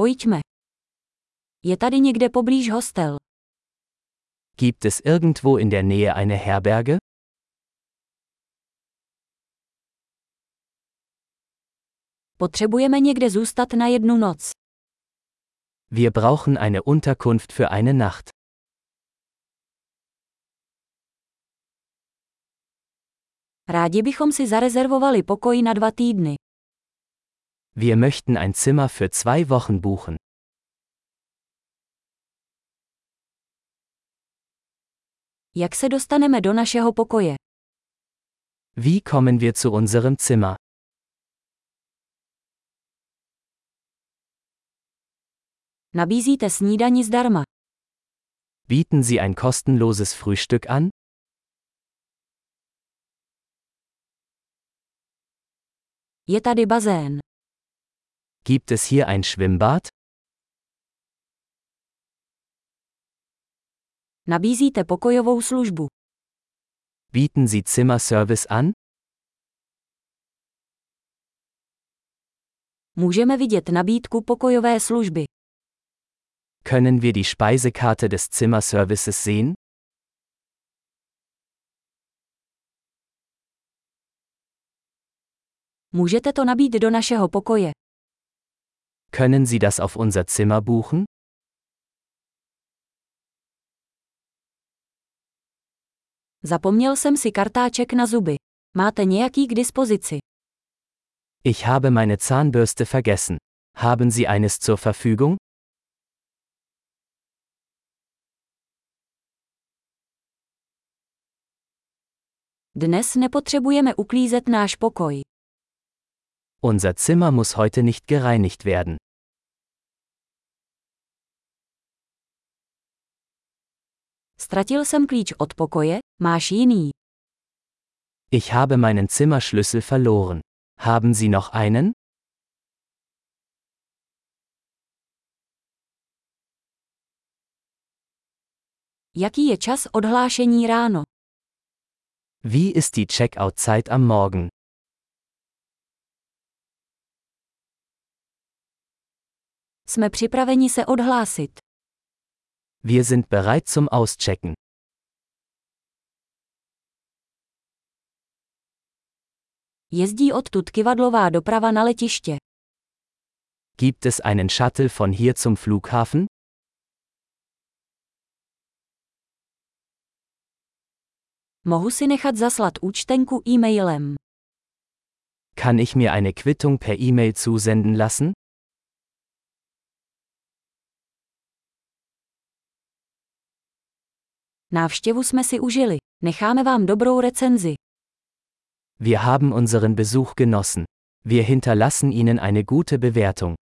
Pojďme. Je tady někde poblíž hostel? Gibt es irgendwo in der Nähe eine Herberge? Potřebujeme někde zůstat na jednu noc. Wir brauchen eine Unterkunft für eine Nacht. Rádi bychom si zarezervovali pokoj na 2 týdny. Wir möchten ein Zimmer für 2 Wochen buchen. Jak se dostaneme do našeho pokoje? Wie kommen wir zu unserem Zimmer? Nabízíte snídani zdarma. Bieten Sie ein kostenloses Frühstück an? Je tady bazén. Gibt es hier ein Schwimmbad? Nabízíte pokojovou službu. Bieten Sie Zimmerservice an? Můžeme vidět nabídku pokojové služby. Können wir die Speisekarte des Zimmerservices sehen? Můžete to nabít do našeho pokoje. Können Sie das auf unser Zimmer buchen? Zapomněl jsem si kartáček na zuby. Máte nějaký k dispozici? Ich habe meine Zahnbürste vergessen. Haben Sie eines zur Verfügung? Dnes nepotřebujeme uklízet náš pokoj. Unser Zimmer muss heute nicht gereinigt werden. Ztratil jsem klíč od pokoje, máš jiný? Ich habe meinen Zimmerschlüssel verloren. Haben Sie noch einen? Jaký je čas odhlášení ráno? Wie ist die Checkout-Zeit am Morgen? Jsme připraveni se odhlásit. Wir sind bereit zum Auschecken. Jezdí odtud kivadlová doprava na letiště. Gibt es einen Shuttle von hier zum Flughafen? Mohu si nechat zaslat účtenku e-mailem. Kann ich mir eine Quittung per E-Mail zusenden lassen? Návštěvu jsme si užili. Necháme vám dobrou recenzi. Wir haben unseren Besuch genossen. Wir hinterlassen Ihnen eine gute Bewertung.